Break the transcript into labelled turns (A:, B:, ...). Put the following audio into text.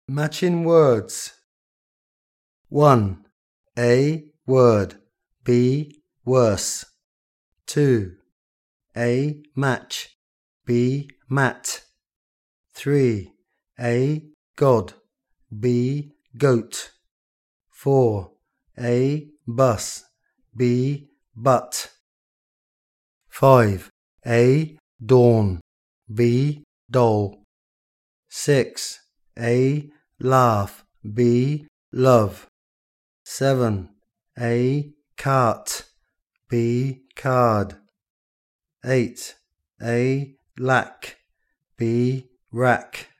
A: Matching words. 1. A word, B worse. 2. A match, B mat. 3. A god, B goat. 4. A bus, B butt. 5. A dawn, B doll. 6. A laugh, B love. 7. A cart, B card. 8. A lack, B rack.